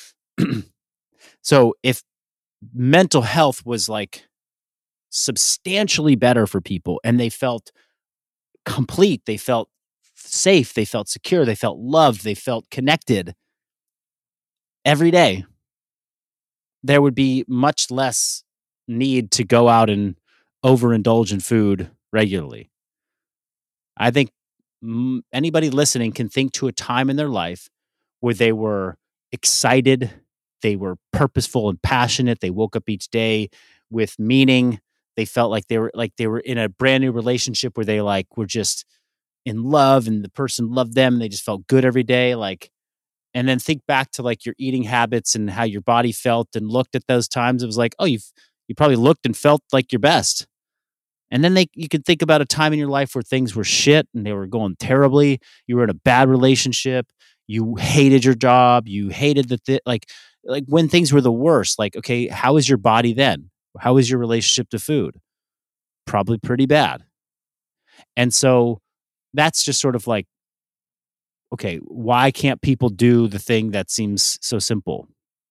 So if mental health was like substantially better for people and they felt complete, they felt safe, they felt secure, they felt loved, they felt connected every day, there would be much less need to go out and overindulge in food regularly. I think mm, anybody listening can think to a time in their life where they were excited, they were purposeful and passionate, they woke up each day with meaning, they felt like they were like they were in a brand new relationship where they like were just in love and the person loved them and they just felt good every day, like. And then think back to like your eating habits and how your body felt and looked at those times. It was like, oh, you've you probably looked and felt like your best. And then they you could think about a time in your life where things were shit and they were going terribly. You were in a bad relationship. You hated your job. You hated the th- like like when things were the worst. Like, okay, how is your body then? How is your relationship to food? Probably pretty bad. And so that's just sort of like, okay, why can't people do the thing that seems so simple?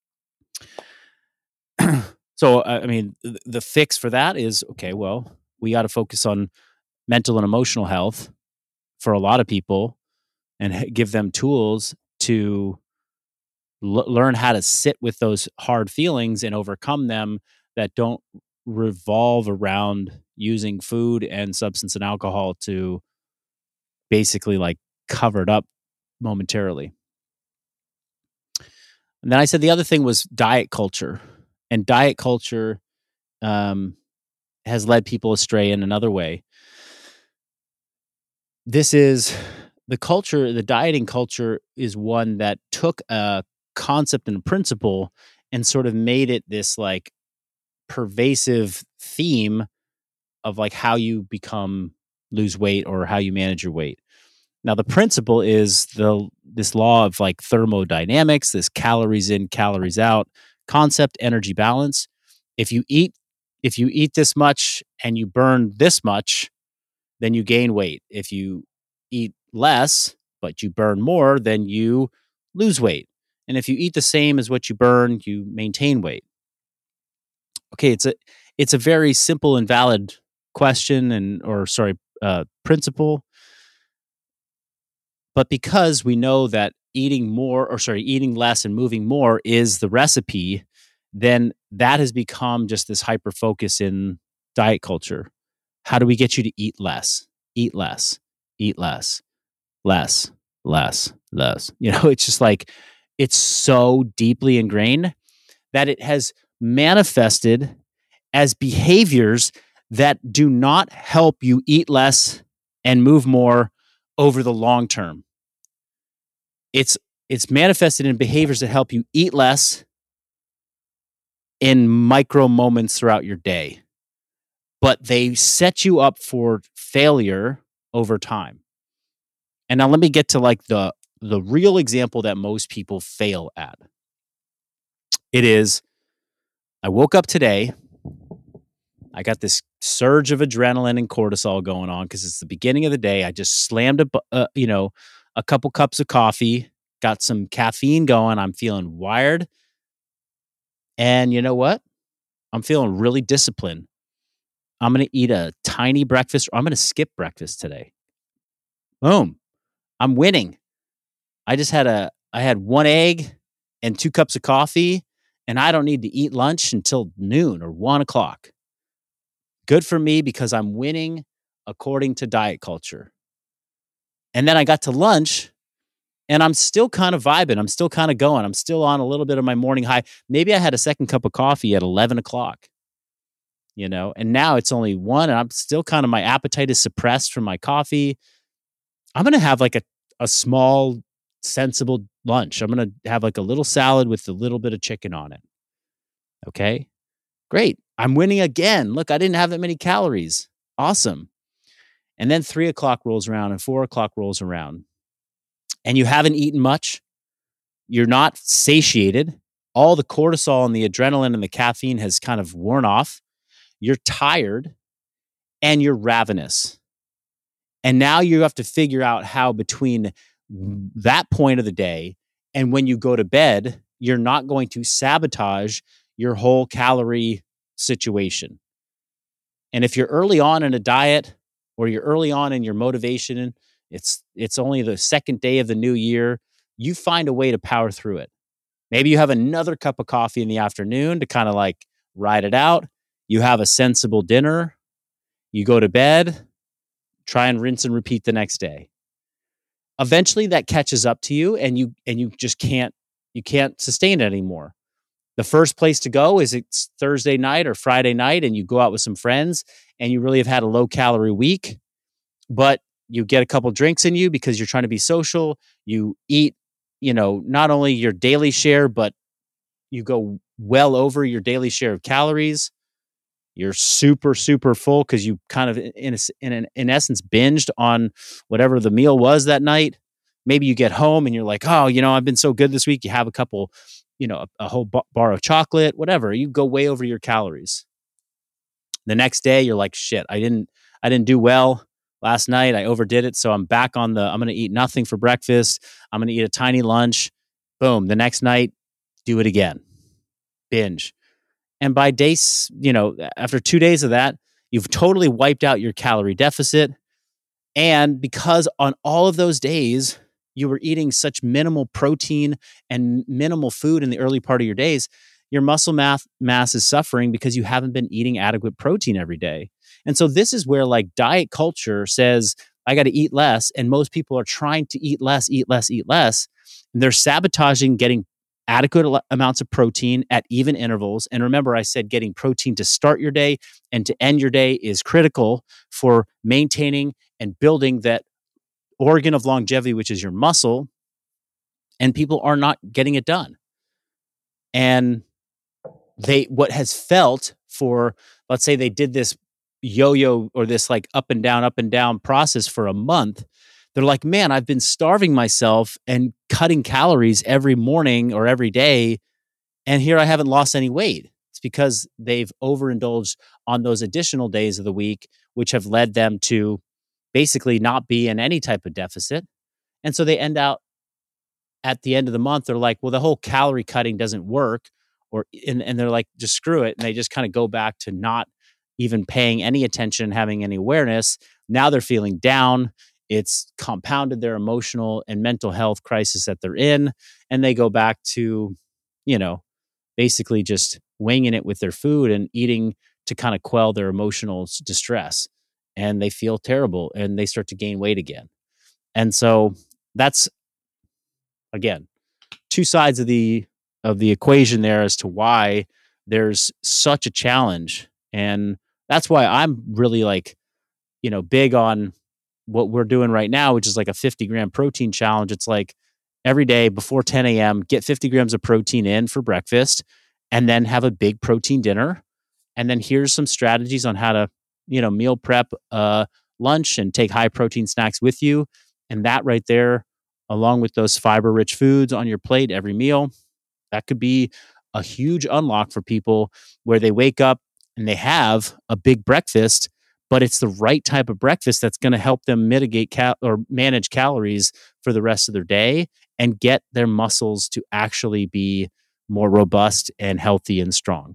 So, uh, I mean, th- the fix for that is okay, well, we got to focus on mental and emotional health for a lot of people and h- give them tools to l- learn how to sit with those hard feelings and overcome them that don't revolve around using food and substance and alcohol to basically like cover it up momentarily. And then I said the other thing was diet culture. And diet culture um, has led people astray in another way. This is the culture, the dieting culture is one that took a concept and a principle and sort of made it this like pervasive theme of like how you become lose weight or how you manage your weight. Now the principle is the this law of like thermodynamics, this calories in, calories out concept, energy balance. If you eat if you eat this much and you burn this much, then you gain weight. If you eat less but you burn more, then you lose weight. And if you eat the same as what you burn, you maintain weight. Okay, it's a it's a very simple and valid question and or sorry, uh, principle. But because we know that eating more or sorry, eating less and moving more is the recipe, then that has become just this hyper focus in diet culture. How do we get you to eat less? Eat less. Eat less. Less. Less. Less. You know, it's just like it's so deeply ingrained that it has manifested as behaviors that do not help you eat less and move more over the long term. It's it's manifested in behaviors that help you eat less in micro moments throughout your day, but they set you up for failure over time. And now let me get to like the the real example that most people fail at. It is I woke up today, I got this surge of adrenaline and cortisol going on because it's the beginning of the day. I just slammed a, bu- uh, you know, a couple cups of coffee, got some caffeine going. I'm feeling wired, and you know what? I'm feeling really disciplined. I'm gonna eat a tiny breakfast, or I'm gonna skip breakfast today. Boom! I'm winning. I just had a, I had one egg and two cups of coffee, and I don't need to eat lunch until noon or one o'clock. Good for me because I'm winning according to diet culture. And then I got to lunch And I'm still kind of vibing. I'm still kind of going. I'm still on a little bit of my morning high. Maybe I had a second cup of coffee at eleven o'clock, you know, and now it's only one and I'm still kind of, my appetite is suppressed from my coffee. I'm going to have like a, a small, sensible lunch. I'm going to have like a little salad with a little bit of chicken on it. Okay. Great. I'm winning again. Look, I didn't have that many calories. Awesome. And then three o'clock rolls around and four o'clock rolls around and you haven't eaten much. You're not satiated. All the cortisol and the adrenaline and the caffeine has kind of worn off. You're tired and you're ravenous. And now you have to figure out how between that point of the day and when you go to bed, you're not going to sabotage your whole calorie situation. And if you're early on in a diet or you're early on in your motivation, it's it's only the second day of the new year, you find a way to power through it. Maybe you have another cup of coffee in the afternoon to kind of like ride it out. You have a sensible dinner. You go to bed, try and rinse and repeat the next day. Eventually that catches up to you and you and you just can't you can't sustain it anymore. The first place to go is it's Thursday night or Friday night and you go out with some friends and you really have had a low calorie week, but you get a couple drinks in you because you're trying to be social. You eat, you know, not only your daily share, but you go well over your daily share of calories. You're super, super full because you kind of, in, a, in, an, in essence, binged on whatever the meal was that night. Maybe you get home and you're like, oh, you know, I've been so good this week. You have a couple, you know, a, a whole bar of chocolate, whatever. You go way over your calories. The next day, you're like, shit, I didn't, I didn't do well last night. I overdid it. So I'm back on the, I'm going to eat nothing for breakfast. I'm going to eat a tiny lunch. Boom. The next night, do it again. Binge. And by days, you know, after two days of that, you've totally wiped out your calorie deficit. And because on all of those days, you were eating such minimal protein and minimal food in the early part of your days, your muscle mass, mass is suffering because you haven't been eating adequate protein every day. And so this is where like diet culture says, I got to eat less. And most people are trying to eat less, eat less, eat less. And they're sabotaging getting adequate al- amounts of protein at even intervals. And remember, I said getting protein to start your day and to end your day is critical for maintaining and building that organ of longevity, which is your muscle. And people are not getting it done. And they, what has felt for, let's say they did this yo-yo or this like up and down, up and down process for a month. They're like, man, I've been starving myself and cutting calories every morning or every day. And here I haven't lost any weight. It's because they've overindulged on those additional days of the week, which have led them to basically not be in any type of deficit. And so they end out at the end of the month, they're like, well, the whole calorie cutting doesn't work. Or, and, and they're like, just screw it. And they just kind of go back to not even paying any attention, having any awareness. Now they're feeling down. It's compounded their emotional and mental health crisis that they're in. And they go back to, you know, basically just winging it with their food and eating to kind of quell their emotional s- distress. And they feel terrible and they start to gain weight again. And so that's, again, two sides of the of the equation there as to why there's such a challenge. And that's why I'm really like, you know, big on what we're doing right now, which is like a fifty gram protein challenge. It's like every day before ten a.m., get fifty grams of protein in for breakfast and then have a big protein dinner. And then here's some strategies on how to, you know, meal prep uh, lunch and take high protein snacks with you. And that right there, along with those fiber rich foods on your plate every meal, that could be a huge unlock for people where they wake up and they have a big breakfast, but it's the right type of breakfast that's going to help them mitigate cal- or manage calories for the rest of their day and get their muscles to actually be more robust and healthy and strong.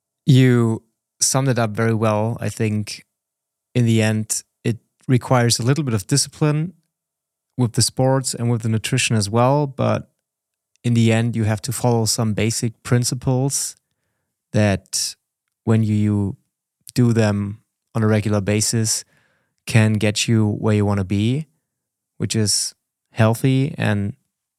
You summed it up very well. I think in the end, it requires a little bit of discipline with the sports and with the nutrition as well. But in the end, you have to follow some basic principles that when you do them on a regular basis can get you where you want to be, which is healthy and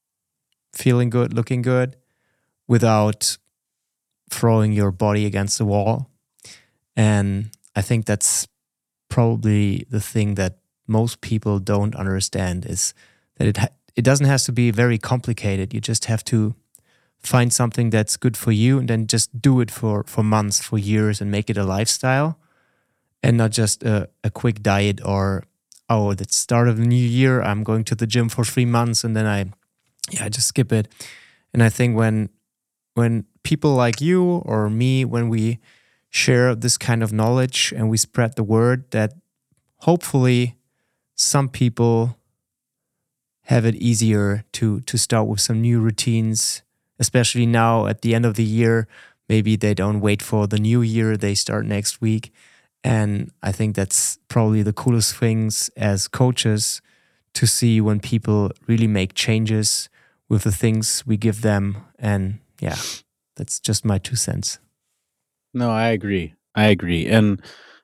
feeling good, looking good, without throwing your body against the wall. And I think that's probably the thing that most people don't understand, is that it ha- it doesn't have to be very complicated. You just have to find something that's good for you and then just do it for, for months, for years, and make it a lifestyle, and not just a, a quick diet or, oh, at the start of the new year, I'm going to the gym for three months and then I, yeah, I just skip it. And I think when when people like you or me, when we share this kind of knowledge and we spread the word, that hopefully some people have it easier to to start with some new routines, especially now at the end of the year. Maybe they don't wait for the new year, they start next week. And I think that's probably the coolest things as coaches, to see when people really make changes with the things we give them. And yeah, that's just my two cents. No, I agree. I agree. And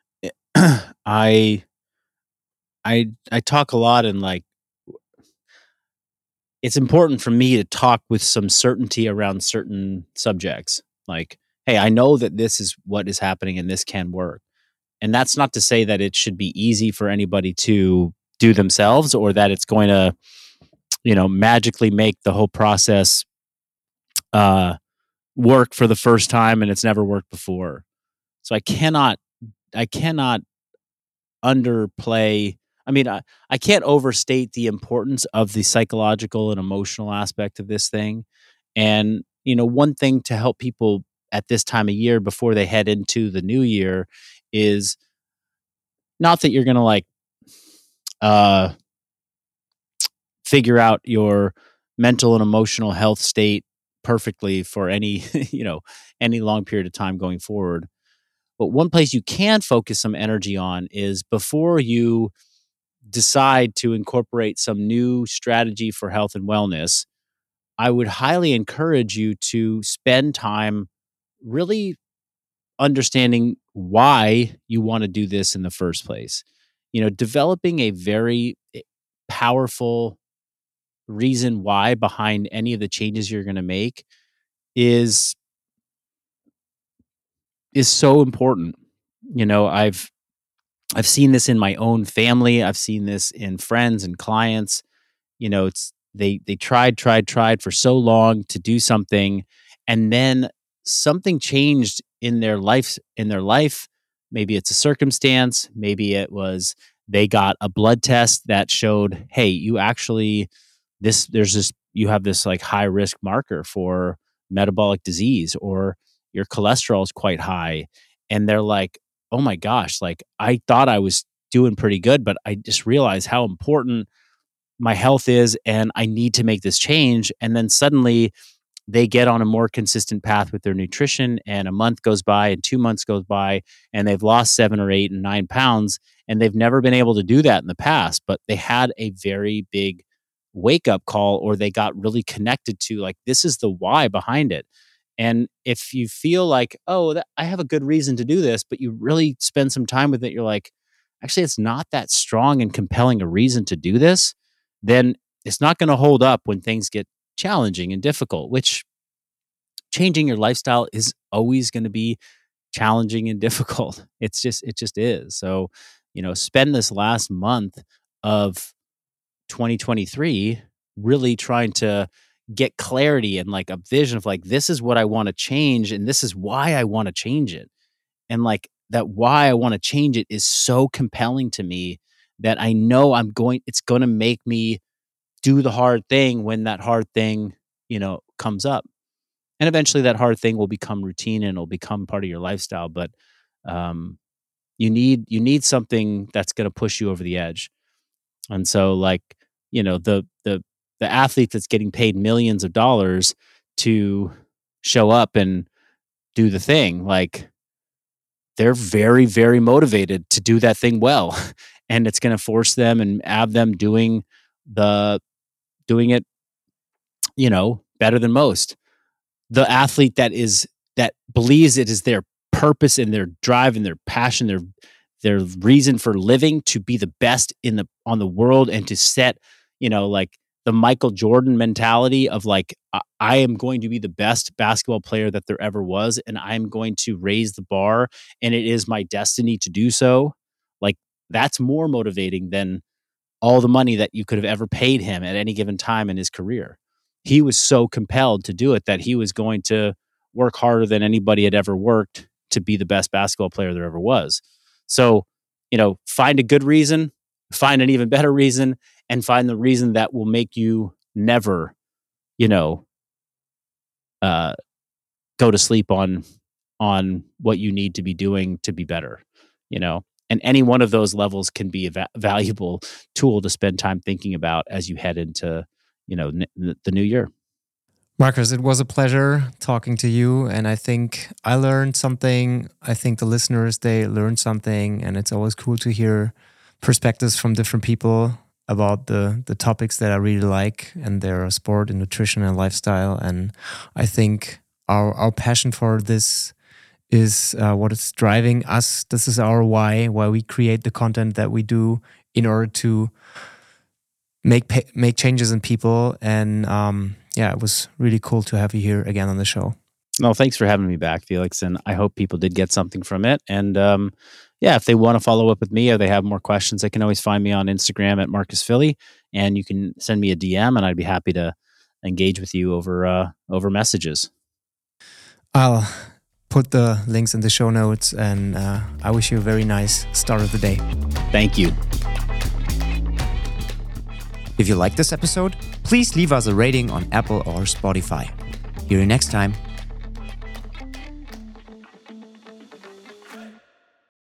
I I I talk a lot, and like it's important for me to talk with some certainty around certain subjects. Like, hey, I know that this is what is happening and this can work. And that's not to say that it should be easy for anybody to do themselves, or that it's going to, you know, magically make the whole process uh, work for the first time and it's never worked before. So I cannot, I cannot underplay. I mean, I, I can't overstate the importance of the psychological and emotional aspect of this thing. And, you know, one thing to help people at this time of year before they head into the new year is not that you're going to like uh, figure out your mental and emotional health state perfectly for any, you know, any long period of time going forward. But one place you can focus some energy on is before you decide to incorporate some new strategy for health and wellness, I would highly encourage you to spend time really understanding why you want to do this in the first place. You know, developing a very powerful reason why behind any of the changes you're going to make is is so important. You know, I've I've seen this in my own family. I've seen this in friends and clients. You know, it's they they tried, tried, tried for so long to do something, and then something changed in their life in their life. Maybe it's a circumstance, maybe it was they got a blood test that showed, hey, you actually this there's this you have this like high risk marker for metabolic disease, or your cholesterol is quite high. And they're like, oh my gosh, like I thought I was doing pretty good, but I just realized how important my health is and I need to make this change. And then suddenly they get on a more consistent path with their nutrition, and a month goes by and two months goes by and they've lost seven or eight and nine pounds, and they've never been able to do that in the past, but they had a very big wake up call, or they got really connected to like, this is the why behind it. And if you feel like, oh, that, I have a good reason to do this, but you really spend some time with it, you're like, actually, it's not that strong and compelling a reason to do this, then it's not going to hold up when things get challenging and difficult, which changing your lifestyle is always going to be challenging and difficult. It's just, it just is. So, you know, spend this last month of twenty twenty-three really trying to get clarity and like a vision of like, this is what I want to change and this is why I want to change it. And like that why I want to change it is so compelling to me that I know I'm going, it's going to make me do the hard thing when that hard thing, you know, comes up. And eventually that hard thing will become routine and it'll become part of your lifestyle. But um, you need, you need something that's going to push you over the edge. And so like, you know, the, the, the athlete that's getting paid millions of dollars to show up and do the thing, like they're very, very motivated to do that thing well. And it's going to force them and have them doing the, doing it, you know, better than most. The athlete that is, that believes it is their purpose and their drive and their passion, their, their reason for living to be the best in the, on the world and to set, you know, like the Michael Jordan mentality of like, I, I am going to be the best basketball player that there ever was, and I'm going to raise the bar, and it is my destiny to do so. Like, that's more motivating than all the money that you could have ever paid him at any given time in his career. He was so compelled to do it that he was going to work harder than anybody had ever worked to be the best basketball player there ever was. So, you know, find a good reason, find an even better reason, and find the reason that will make you never, you know, uh, go to sleep on on what you need to be doing to be better, you know. And any one of those levels can be a va- valuable tool to spend time thinking about as you head into, you know, n- the new year. Marcus, it was a pleasure talking to you. And I think I learned something. I think the listeners, they learned something. And it's always cool to hear perspectives from different people about the, the topics that I really like, and their sport and nutrition and lifestyle. And I think our, our passion for this is uh, what is driving us. This is our why, why we create the content that we do in order to make pa- make changes in people. And um, yeah, it was really cool to have you here again on the show. No, thanks for having me back, Felix. And I hope people did get something from it. And um, yeah, if they want to follow up with me or they have more questions, they can always find me on Instagram at Marcus Philly, and you can send me a D M, and I'd be happy to engage with you over uh, over messages. I'll put the links in the show notes, and uh, I wish you a very nice start of the day. Thank you. If you like this episode, please leave us a rating on Apple or Spotify. Hear you next time.